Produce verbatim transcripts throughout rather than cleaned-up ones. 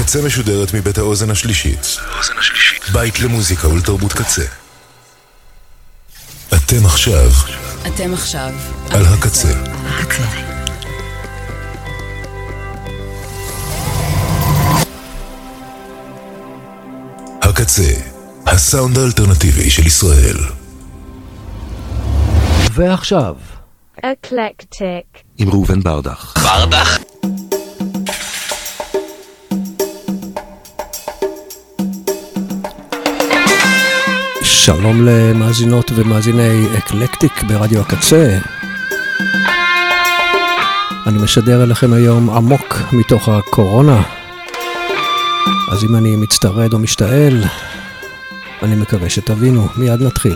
הקצה משודרת מבית האוזן השלישית. בית למוזיקה ולתרבות קצה. אתם עכשיו. אתם עכשיו. על הקצה. הקצה. הקצה, הסאונד האלטרנטיבי של ישראל. ועכשיו אקלקטיק עם ראובן ברדך. ברדך? שלום למאזינות ומאזיני אקלקטיק ברדיו הקצה. אני משדר אליכם היום עמוק מתוך הקורונה. אז אם אני מצטרד או משתעל, אני מקווה שתבינו. מיד נתחיל.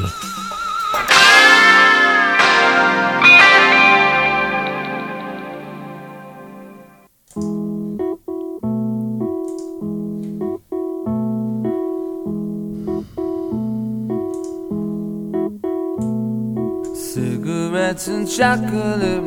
Cigarettes and chocolate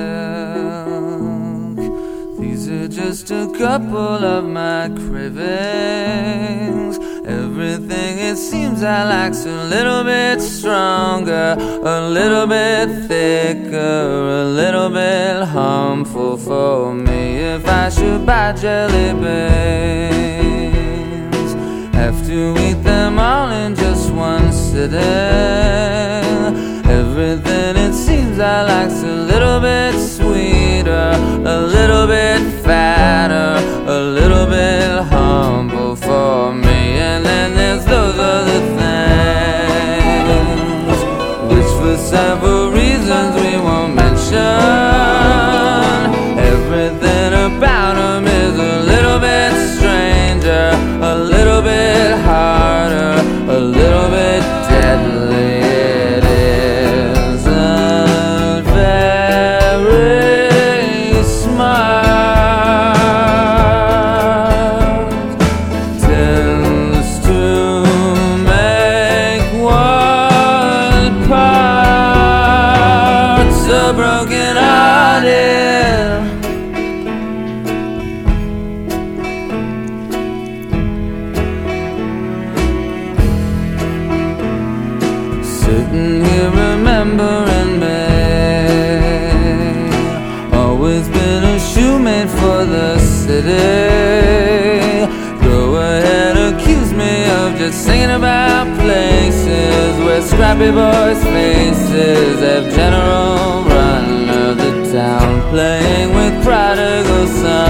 milk, these are just a couple of my cravings. Everything it seems I like's a little bit stronger, a little bit thicker, a little bit harmful for me. If I should buy jelly beans, have to eat them all in just one sitting. Everything it seems I like's a little bit sweeter, a little bit fatter, a little bit humble for me. And then there's those other things, which for several reasons we won't mention. Everything about them is a little bit stranger, a little bit harder, a little bit deadly. Go ahead, accuse me of just singing about places where scrappy boys' faces have general run of the town, playing with prodigal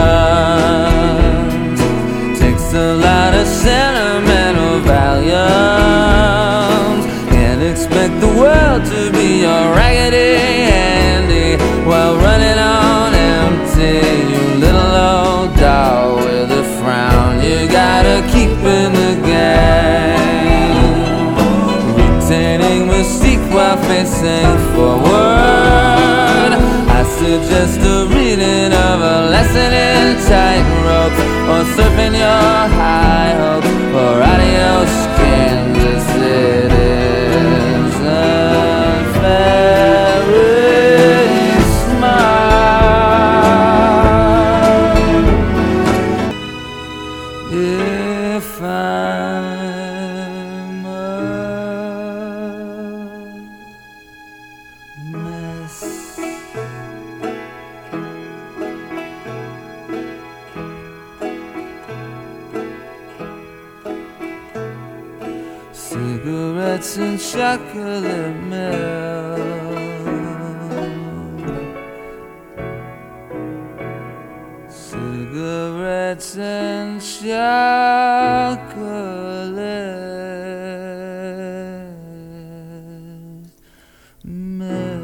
sons. Takes a lot of sentimental valiums. Can't expect the world to be your Raggedy Andy while running on empty. You little old doll with a frown, you gotta keep in the game, retaining mystique while facing forward. I suggest a reading of a lesson in tightrope, or surfing your high hopes, or adios Kansas City. Very smart. If I'm a mess, cigarettes and chocolate milk, cigarettes and chocolate milk.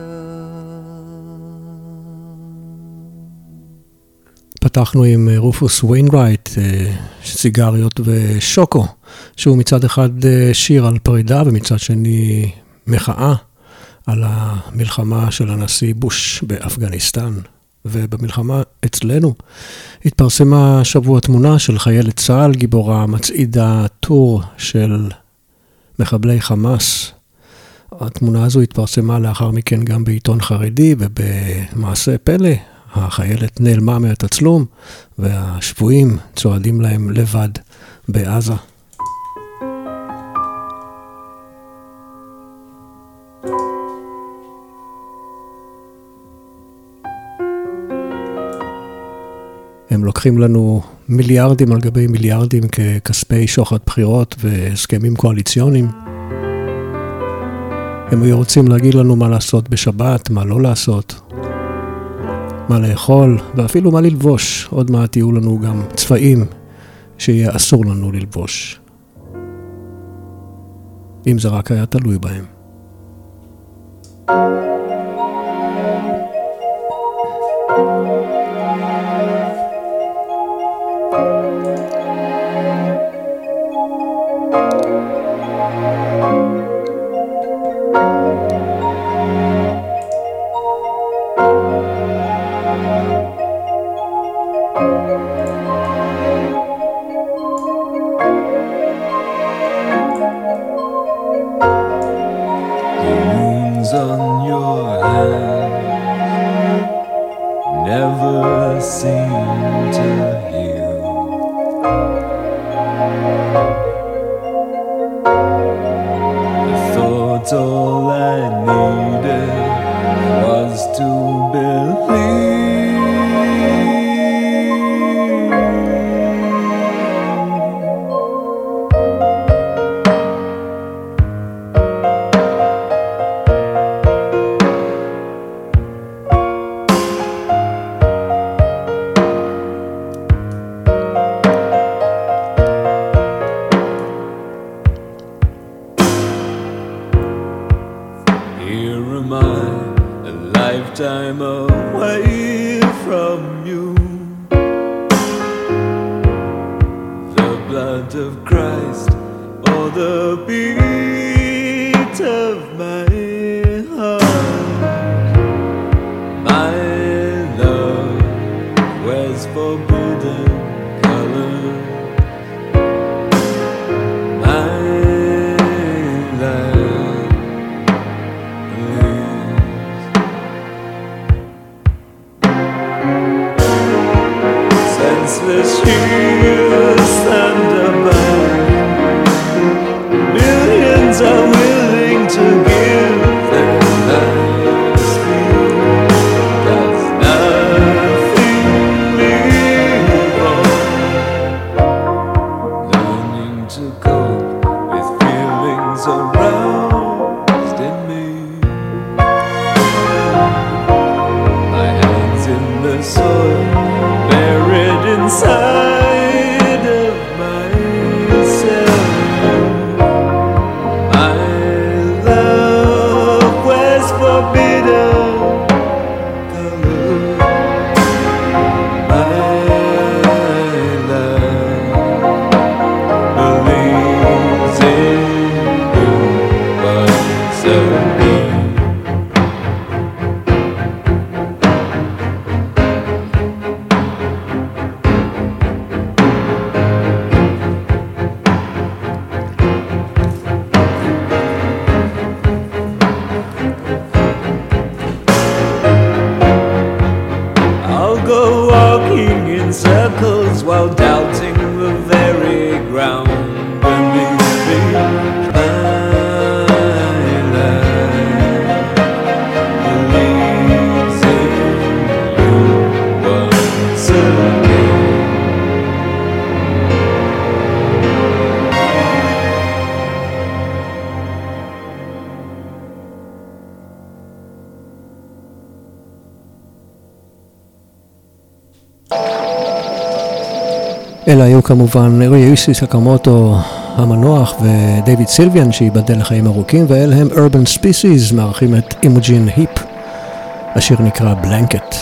פתחנו עם רופוס ויינרייט, סיגריות ושוקו, שהוא מצד אחד שיר על פרידה ומצד שני מחאה על המלחמה של הנשיא בוש באפגניסטן. ובמלחמה אצלנו התפרסמה שבוע תמונה של חיילת צה"ל, גיבורה מצעידה טור של מחבלי חמאס. התמונה הזו התפרסמה לאחר מכן גם בעיתון חרדי, ובמעשה פלא החיילת נעלמה מהתצלום, והשבויים צועדים להם לבד בעזה. הם לוקחים לנו מיליארדים על גבי מיליארדים ככספי שוחד בחירות והסכמים קואליציוניים. הם היו רוצים להגיד לנו מה לעשות בשבת, מה לא לעשות, מה לאכול, ואפילו מה ללבוש. עוד מעט יהיו לנו גם צבעים שיהיה אסור לנו ללבוש. אם זה רק היה תלוי בהם. אלה היו כמובן יוישי סקמוטו המנוח ודייוויד סילביאן שיבדל לחיים ארוכים, ואלה הם Urban Species מארחים את אימוג'ין היפ. השיר נקרא בלנקט.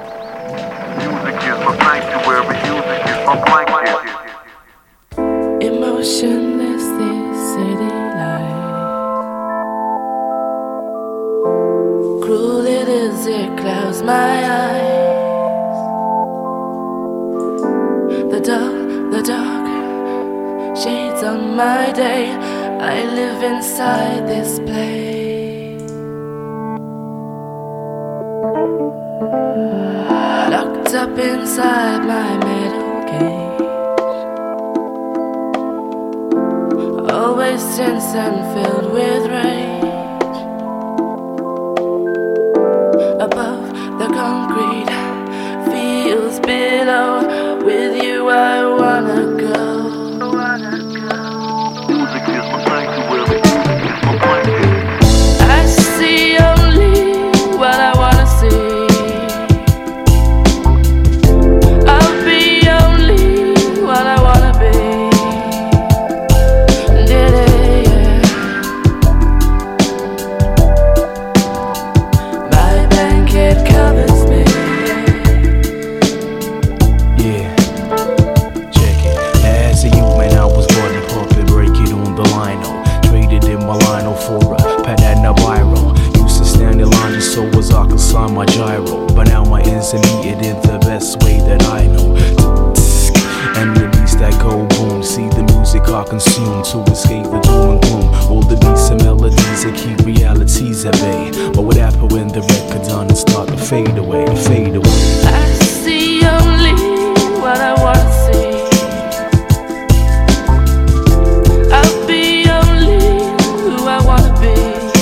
Emotionless this city life, cruel it is, it clouds my eyes. The dark, the dark shades on my day. I live inside this place. inside my metal cage, always tense and filled with rage. Above the concrete fields below, with you I wanna go. Music is my sanctuary, it's my blanket. I see only what I wanna see. I'll be only what I wanna be. Did it, yeah. My blanket covers me. Yeah, check it. As a youth, man, I was born in puppet, break it on the lino. Traded in my lino for a Patana Biro. Used to stand in line just so as I could sign my gyro. But now my ends are needed in the best way that I know. And release that gold boom. See the music I consume to escape the doom and gloom. All the beats and melodies that keep realities at bay. But what happened when the record done and start to fade away, fade away? I see only what I wanna see. I'll be only who I wanna be.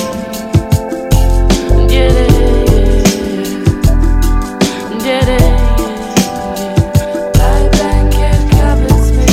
Did it, did it. My blanket covers me.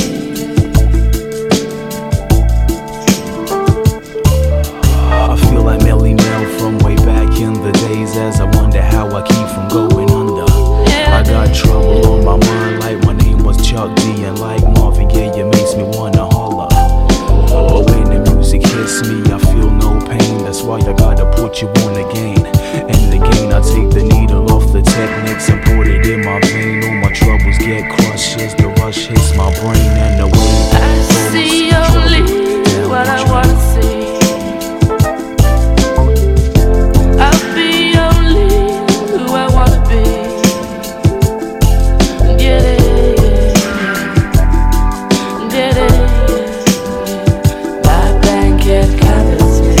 I feel like Melly Mel from way back in the days, as I wonder how I keep from going under. I got trouble on my mind, like my name was Chuck D, and like Marvin Gaye, it makes me wanna holler. But when the music hits me, I feel no pain. That's why I gotta put you on again. And again, I take the needle off the techniques and put it in my vein. All my troubles get crushed as the rush hits my brain, and the wave I see only what I wanna see. I'll be only who I wanna be. Did it, did it. My blanket covers me.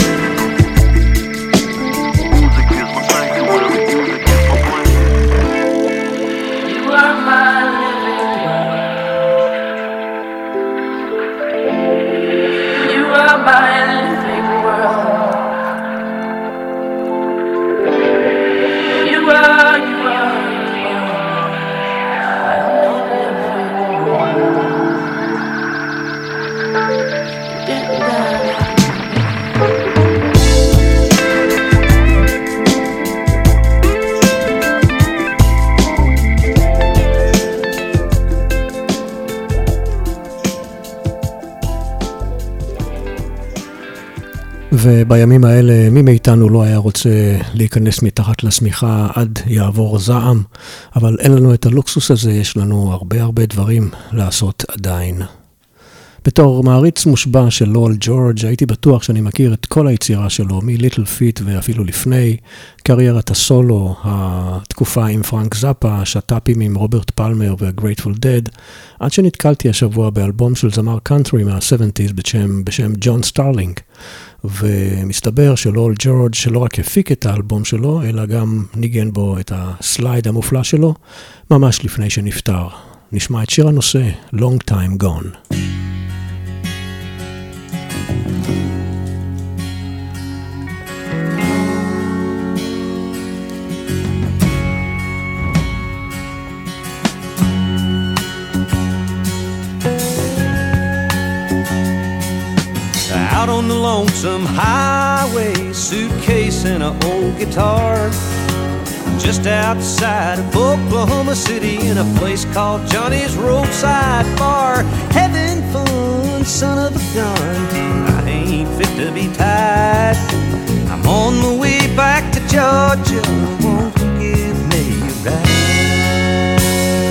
Music is my sanctuary, music is my blanket. You are my living world. You are my living world. You are, you are, you are my living world. ובימים האלה מי מאיתנו לא היה רוצה להיכנס מתחת לשמיכה עד יעבור זעם, אבל אין לנו את הלוקסוס הזה, יש לנו הרבה הרבה דברים לעשות עדיין. בתור מעריץ מושבע של לואל ג'ורג' הייתי בטוח שאני מכיר את כל היצירה שלו, מליטל פיט ואפילו לפני, קריירת הסולו, התקופה עם פרנק זאפה, השטאפים עם רוברט פלמר והגרייטפול דד, עד שנתקלתי השבוע באלבום של זמר קאנטרי מה-שבעים בשם, בשם ג'ון סטארלינג, ומסתבר שלואל ג'ורג' שלא רק הפיק את האלבום שלו, אלא גם ניגן בו את הסלייד המופלא שלו, ממש לפני שנפטר. נשמע את שיר הנושא, Long Time Gone. Out on the lonesome highway, suitcase and an old guitar, just outside of Oklahoma City in a place called Johnny's Roadside Bar. Having fun, son of a gun, I ain't fit to be tied. I'm on the way back to Georgia, won't you give me a ride?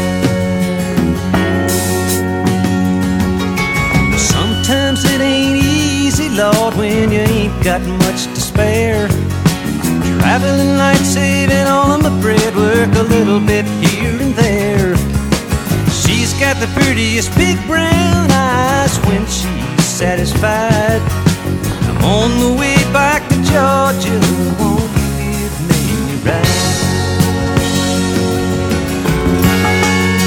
Sometimes it ain't easy, Lord, when you ain't got much to spare. Traveling light, saving all of my bread, work a little bit here and there. She's got the prettiest big brown eyes when she's satisfied. I'm on the way back to Georgia, won't you give me a ride?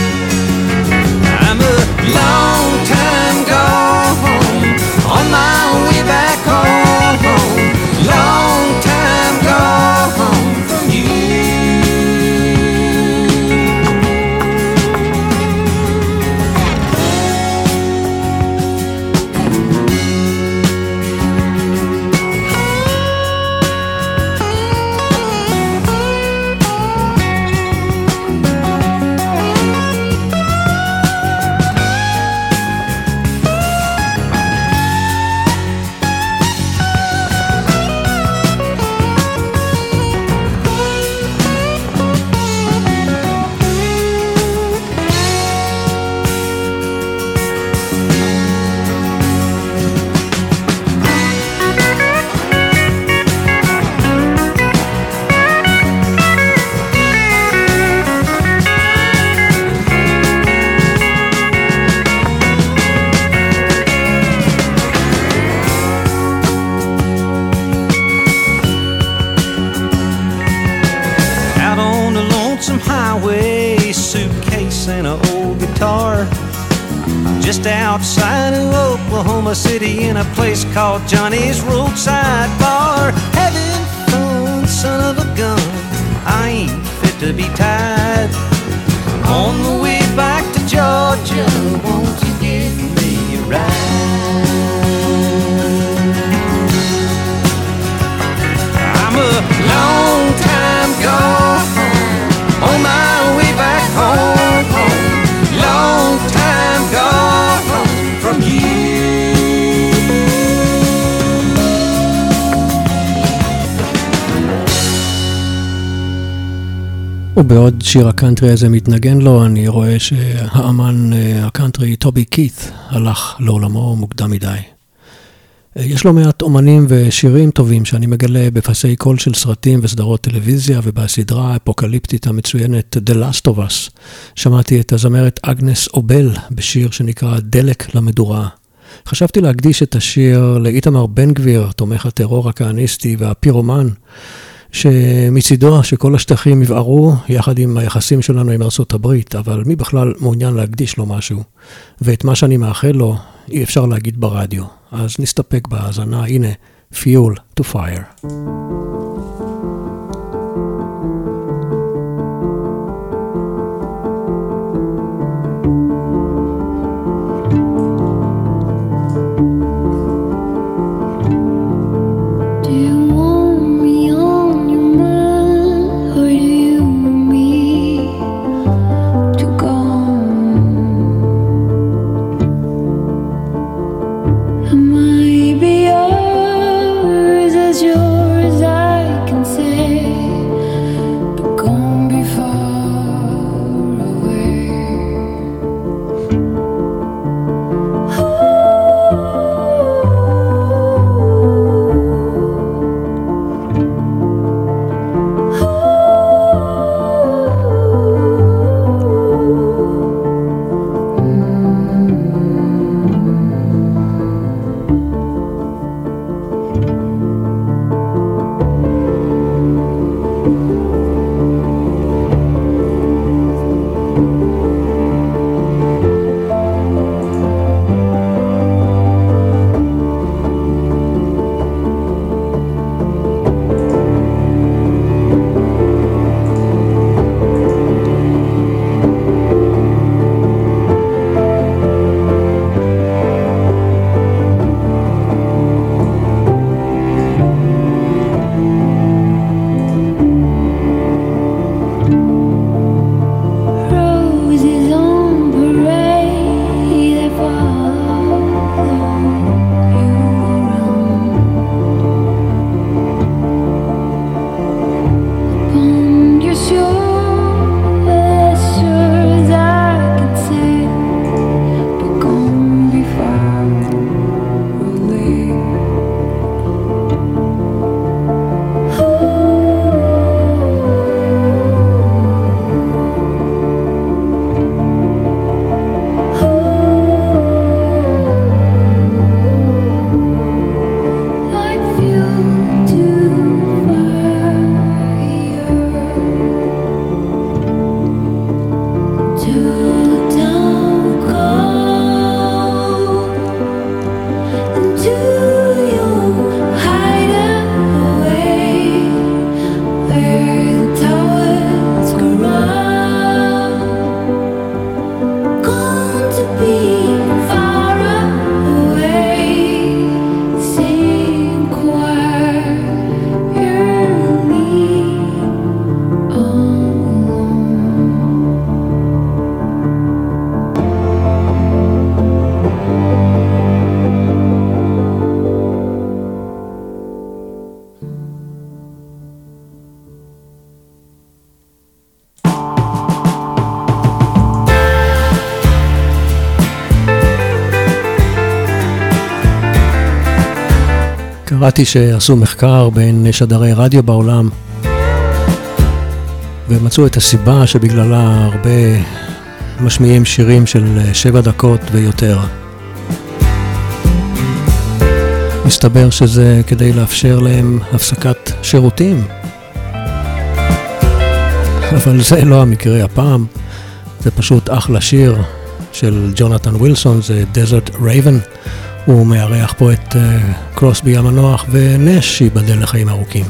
guitar just outside of Oklahoma City in a place called Johnny's Roadside Bar. Having fun, son of a gun, I ain't fit to be tied. On the way back to Georgia, won't you give me a ride? I'm a long time gone, on my way back home, home. Long time gone from you. ובעוד שיר הקאנטרי הזה מתנגן לו, אני רואה שהאמן הקאנטרי טובי קית הלך לעולמו מוקדם מדי. יש לו מעט אומנים ושירים טובים שאני מגלה בפסי קול של סרטים וסדרות טלוויזיה, ובסדרה האפוקליפטית המצוינת The Last of Us שמעתי את הזמרת אגנס אובל בשיר שנקרא דלק למדורה. חשבתי להקדיש את השיר לאיתמר בן גביר, תומך הטרור הכהניסטי והפירומן, שמצידו שכל השטחים יבערו יחד עם היחסים שלנו עם ארצות הברית, אבל מי בכלל מעוניין להקדיש לו משהו? ואת מה שאני מאחל לו אי אפשר להגיד ברדיו. אז נסתפק בהאזנה, הנה, Fuel to Fire. Maybe yours as yours I can say, but gone be far away. קראתי שעשו מחקר בין שדרי רדיו בעולם ומצאו את הסיבה שבגללה הרבה משמיעים שירים של שבע דקות ויותר. מסתבר שזה כדי לאפשר להם הפסקת שירותים. אבל זה לא המקרה הפעם. זה פשוט אחלה שיר של ג'ונתן ווילסון, זה Desert Raven. הוא מארח פה את uh, קרוסבי המנוח ונש שיבדל לחיים ארוכים.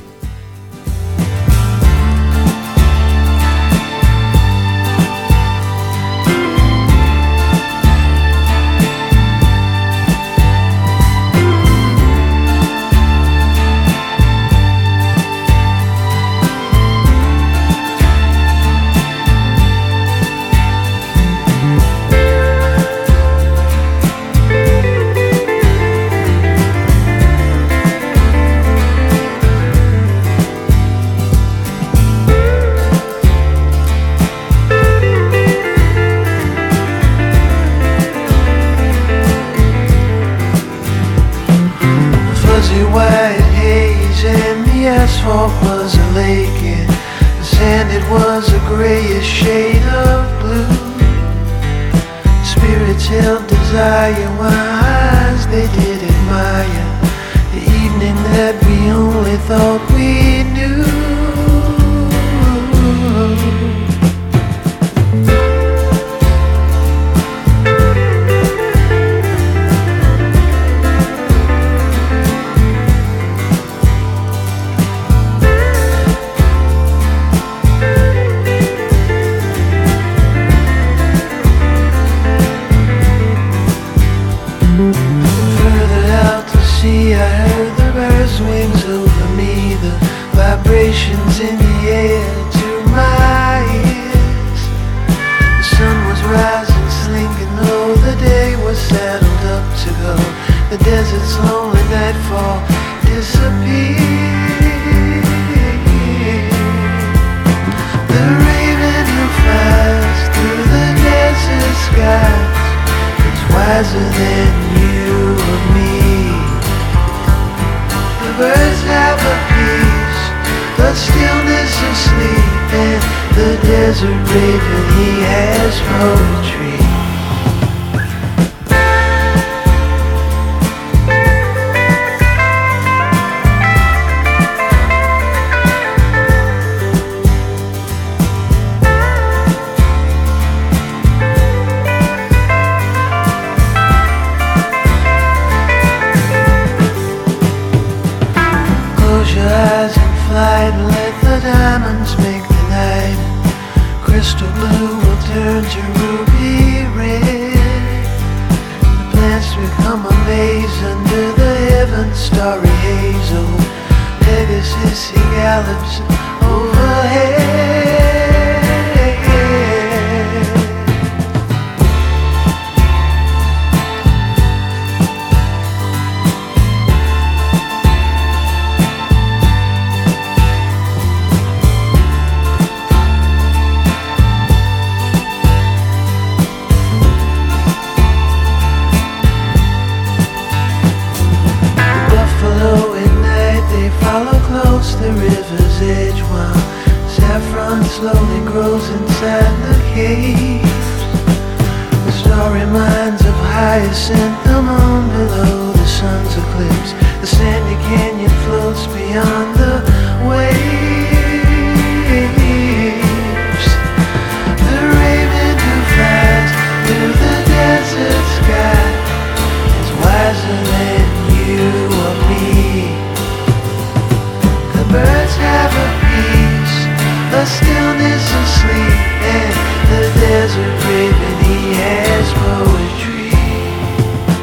Desert raven, he has poetry.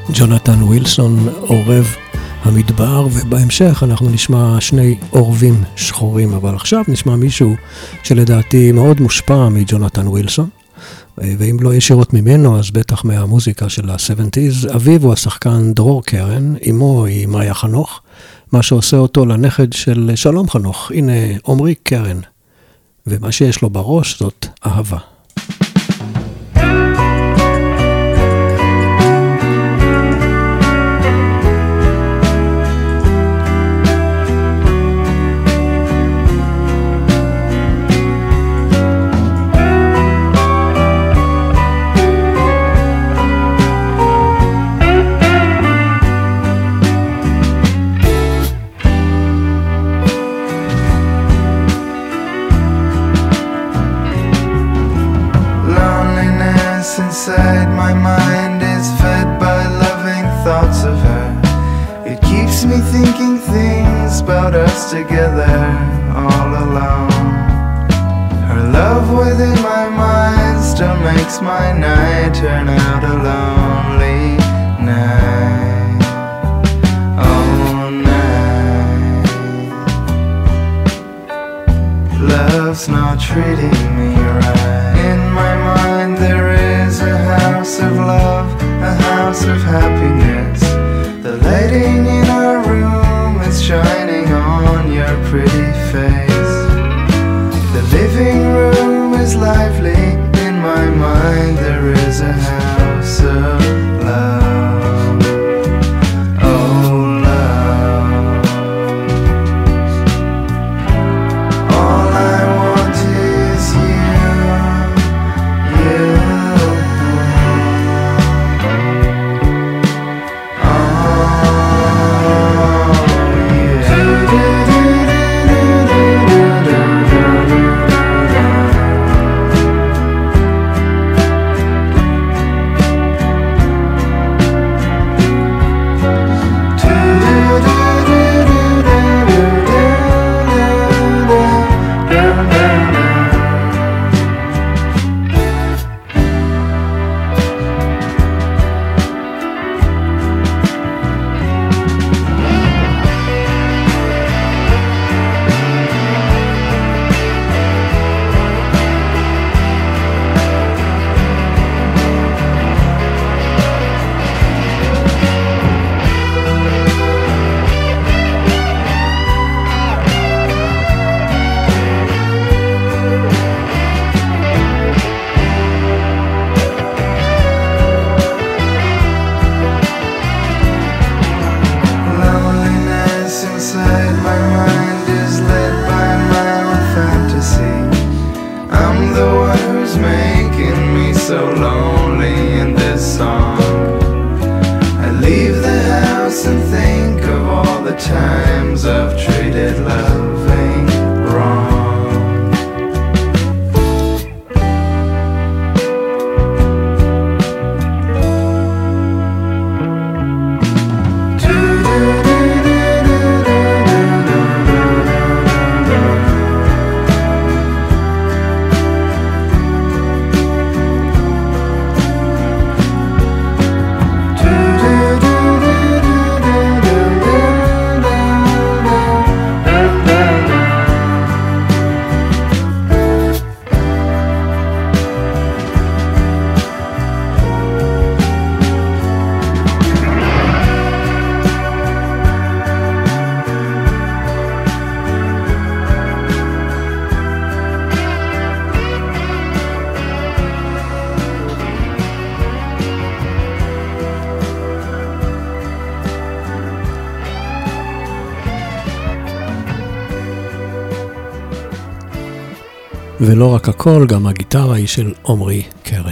ג'ונתן ווילסון, עורב המדבר, ובהמשך אנחנו נשמע שני עורבים שחורים, אבל עכשיו נשמע מישהו שלדעתי מאוד מושפע מג'ונתן ווילסון, ואם לא ישירות ממנו אז בטח מהמוזיקה של ה-שבעים. אביו הוא השחקן דרור קרן, אמו היא מאיה חנוך, מה שעושה אותו לנכד של שלום חנוך. הנה עומרי קרן, ומה שיש לו בראש זאת אהבה. Inside my mind is fed by loving thoughts of her. It keeps me thinking things about us together all alone. Her love within my mind still makes my night turn out a lonely night. Oh, night. Love's not treating me right. In my mind there is a house of love, a house of happiness. The lighting in our room is shining on your pretty face. The living room is lively. In my mind there is a house of love. Oh, love. All I want is you, you. ולא רק הכל, גם הגיטרה היא של עומרי קרן.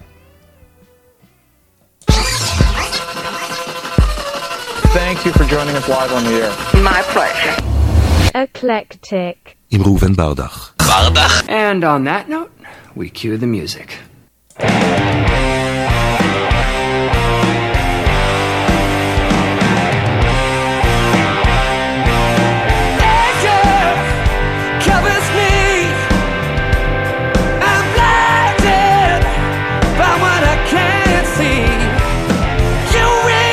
Thank you for joining us live on the air. My pleasure. Eclectic. עם ראובן ברדך. ברדך. And on that note, we cue the music. You really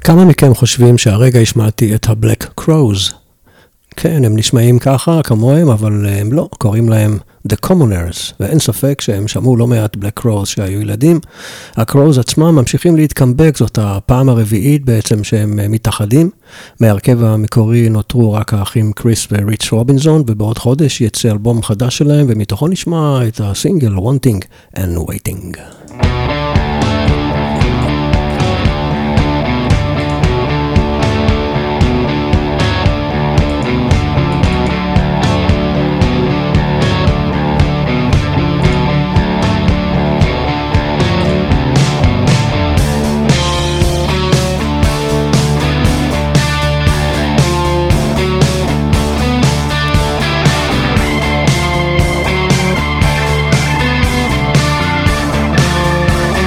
כמה מכם חושבים שהרגע השמעתי את ה-Black Crows? כן, הם נשמעים ככה, כמוהם, אבל הם לא, קוראים להם The Commoners, ואין ספק שהם שמעו לא מעט Black Crows שהיו ילדים. ה-Crows עצמם ממשיכים להתקמבק, זאת הפעם הרביעית בעצם שהם מתאחדים. מהרכב המקורי נותרו רק האחים קריס וריץ' רובינזון, ובעוד חודש יצא אלבום חדש שלהם, ומתוכו נשמע את הסינגל Wanting and Waiting. Thank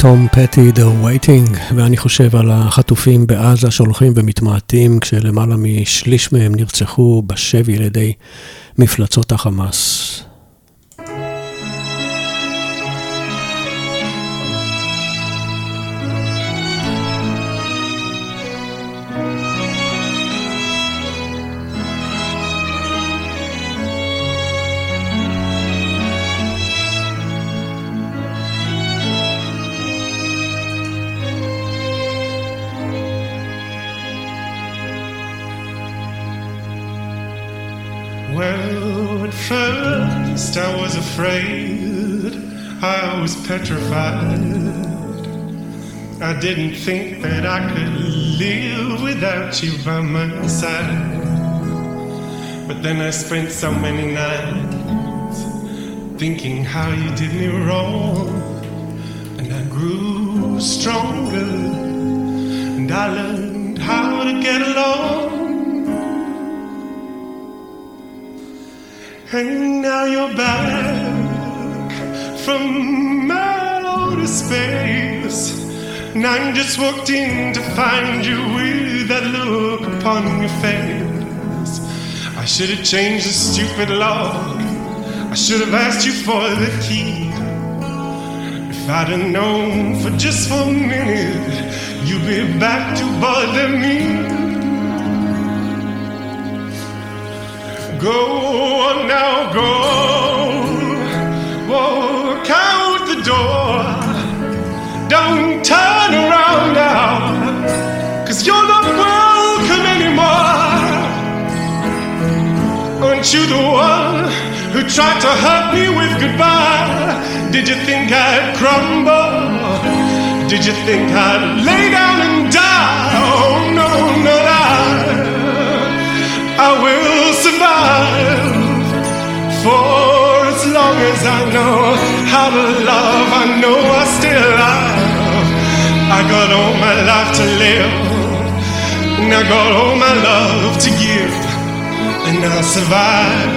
תום פטי, The Waiting, ואני חושב על החטופים בעזה שהולכים ומתמעטים כשלמעלה משליש מהם נרצחו בשבי על ידי מפלצות החמאס. Well, at first I was afraid, I was petrified. I didn't think that I could live without you by my side. But then I spent so many nights thinking how you did me wrong. And I grew stronger, and I learned how to get along. And now you're back from outer space, and I just walked in to find you with that look upon your face. I should have changed the stupid lock, I should have asked you for the key. If I'd have known for just one minute you'd be back to bother me. Go on now, go, walk out the door. Don't turn around now, 'cause you're not welcome anymore. Aren't you the one who tried to hurt me with goodbye? Did you think I'd crumble? Did you think I'd lay down and die? Oh no, no, I, I will survive. For as long as I know how to love, I know I still love. I got all my life to live, and I got all my love to give, and I'll survive.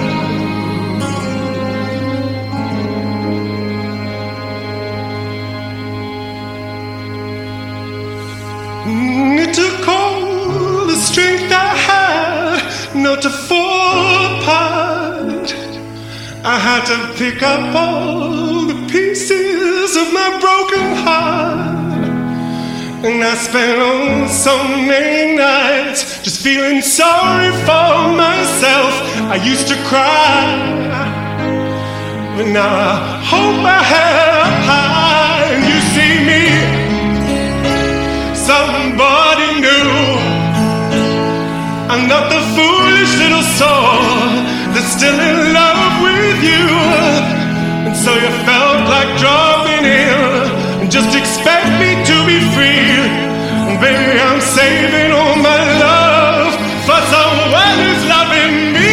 It took all the strength I had not to fall apart. I had to pick up all the pieces of my broken heart. And I spent oh, so many nights just feeling sorry for myself. I used to cry, but now I hold my head up high, and you see me, somebody new. I'm not the foolish little soul that's still in love with you. And so you felt like dropping in and just expect me to be free. And baby, I'm saving all my love for someone who's loving me.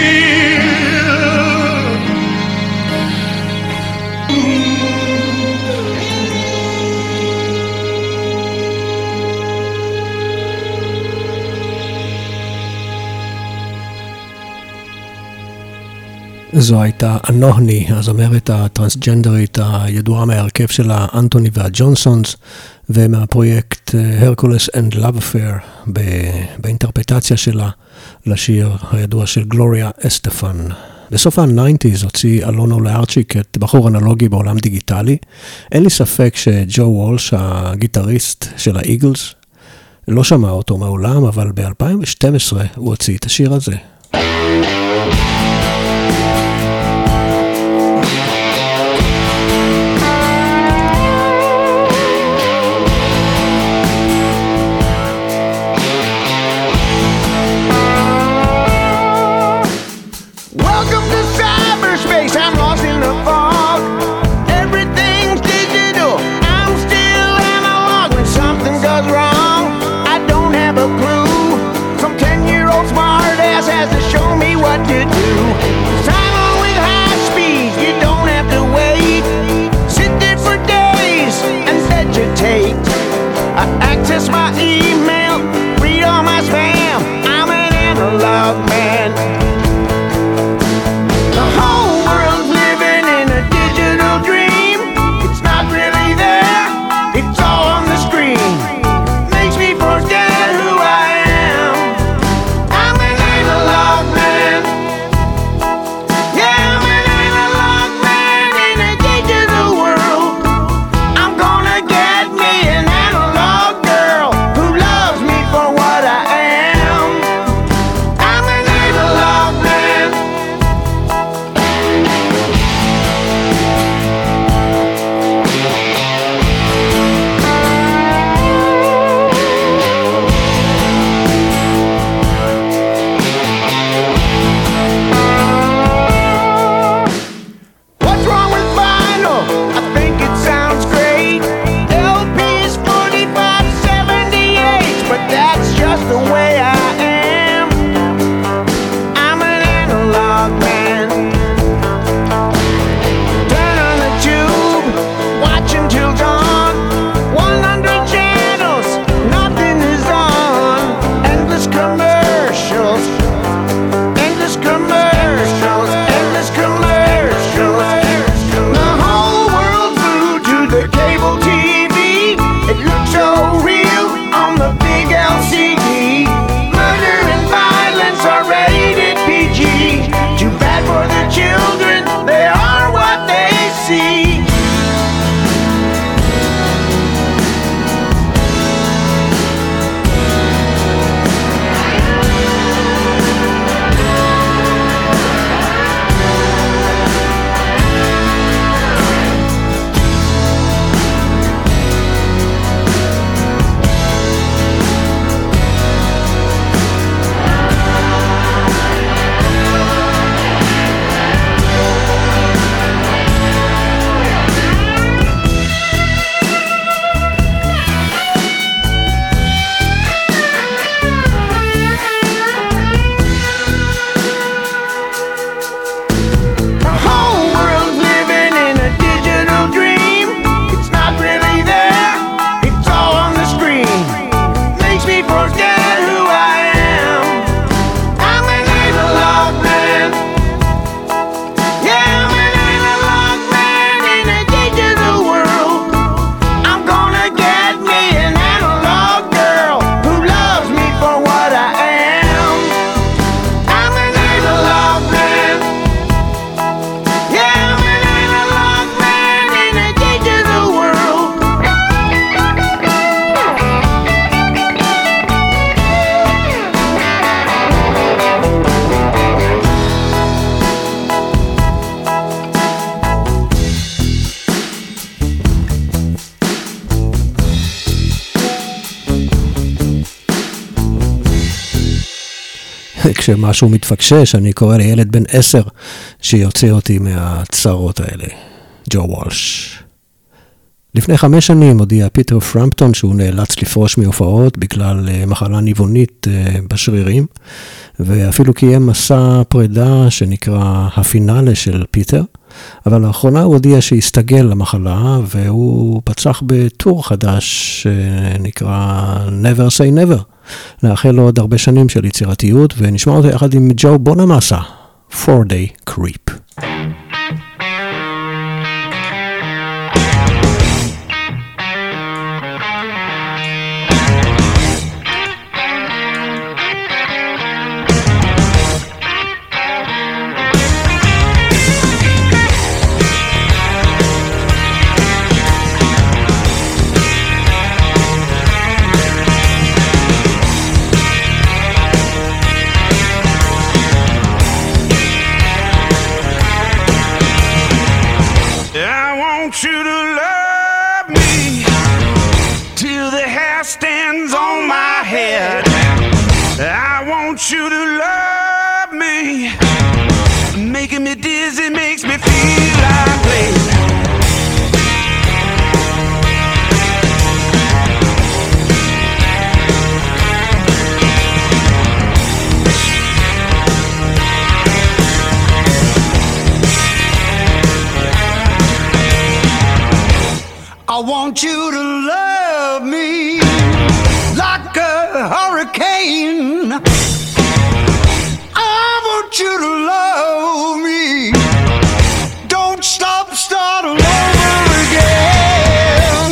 זו הייתה אנוהני, הזמרת הטרנסג'נדרית הידועה מהרכב שלה, אנטוני והג'ונסונס, ומהפרויקט הרקולס אנד לאב אפר, באינטרפטציה שלה לשיר הידוע של גלוריה אסטפן. בסוף ה-תשעים הוציא אלונו לארצ'יק את בחור אנלוגי בעולם דיגיטלי. אין לי ספק שג'ו וולש, הגיטריסט של האיגלס, לא שמע אותו מעולם, אבל ב-אלפיים ושתים עשרה הוא הוציא את השיר הזה. Access my email, read all my spam. I'm an analog man. The whole world's living in כשמשהו מתפקשש, אני קורא לילד בן עשר שיוצא אותי מהצרות האלה. ג'ו וולש. לפני חמש שנים הודיע פיטר פרמפטון שהוא נאלץ לפרוש מהופעות בגלל מחלה ניוונית בשרירים, ואפילו קיים מסע פרידה שנקרא הפינאלה של פיטר, אבל לאחרונה הוא הודיע שהסתגל למחלה, והוא פצח בטור חדש שנקרא Never Say Never. נאחל לו עוד הרבה שנים של יצירתיות, ונשמע אותו יחד עם ג'ו בונמאסה, Four Day Creep. You to love me, making me dizzy, makes me feel like playing. I want you to love me like a hurricane. You to love me. Don't stop, start all over again.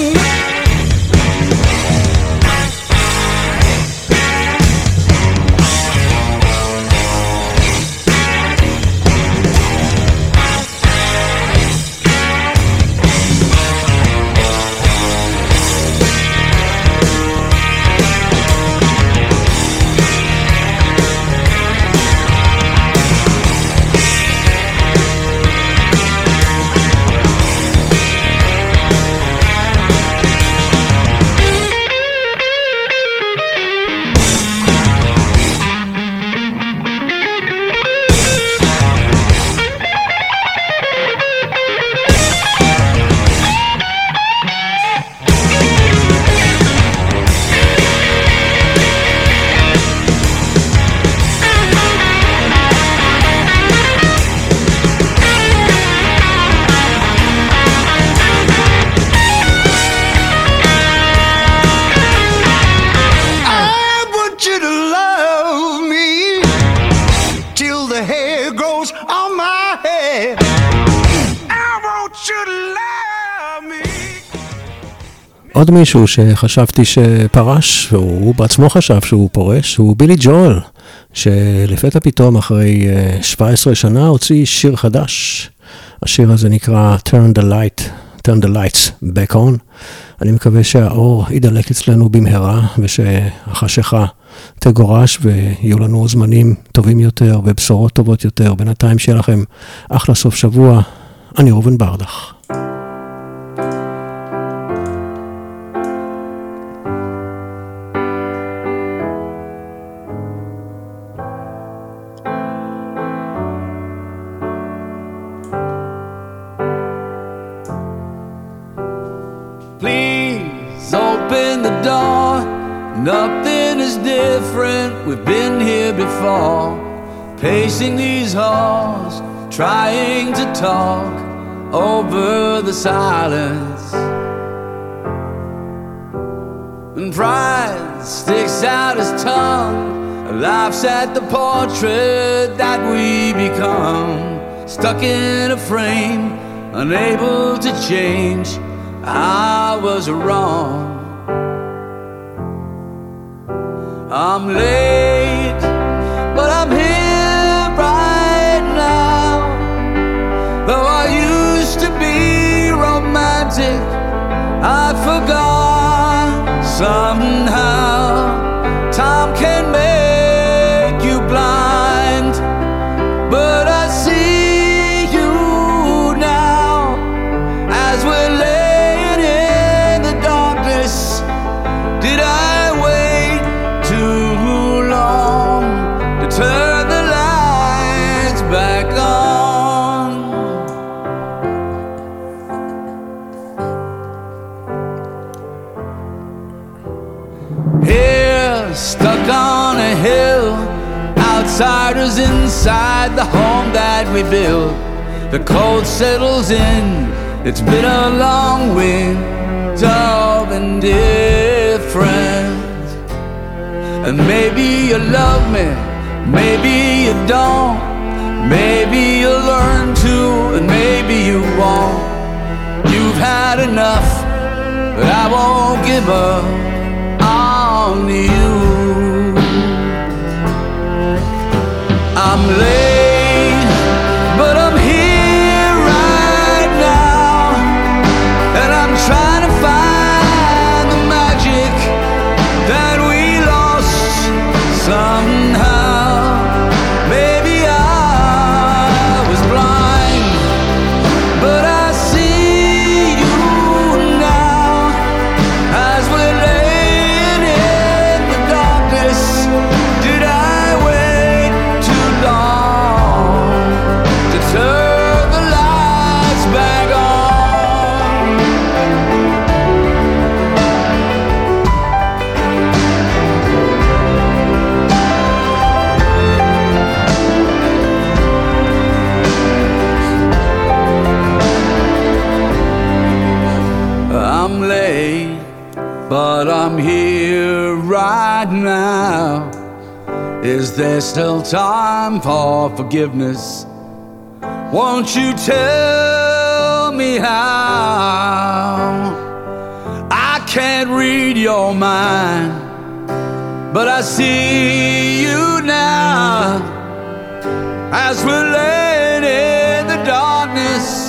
עוד מישהו שחשבתי שפרש, והוא בעצמו חשב שהוא פורש, הוא בילי ג'ואל, שלפתע פתאום אחרי שבע עשרה שנה הוציא שיר חדש. השיר הזה נקרא Turn the Light, Turn the Lights Back On. אני מקווה שהאור ידלק אצלנו במהרה, ושהחשיכה תגורש, ויהיו לנו זמנים טובים יותר, ובשורות טובות יותר. בינתיים שיהיה לכם אחלה סוף שבוע. אני רובן ברדך. Nothing is different, we've been here before, pacing these halls, trying to talk over the silence. And pride sticks out his tongue, laughs at the portrait that we become, stuck in a frame, unable to change. I was wrong. I'm late, but I'm here right now. Though I used to be romantic, I forgot somehow. Time can make you blind, but I see you now as we're laying in the darkness. Did I turn stuck on a hill, outsiders inside the home that we built. The cold settles in, it's been a long winter of indifference. And maybe you love me, maybe you don't, maybe you'll learn to, and maybe you won't. You've had enough, but I won't give up on you. I'm late, but I'm here right now, and I'm trying to find the magic that we lost somehow. Maybe I was blind, but I see you now as we're laying in the darkness. Did I wait too long to turn the lights back on? I'm late, but I'm here right now. Is there still time for forgiveness? Won't you tell me how? I can't read your mind, but I see you now as we're laying in the darkness.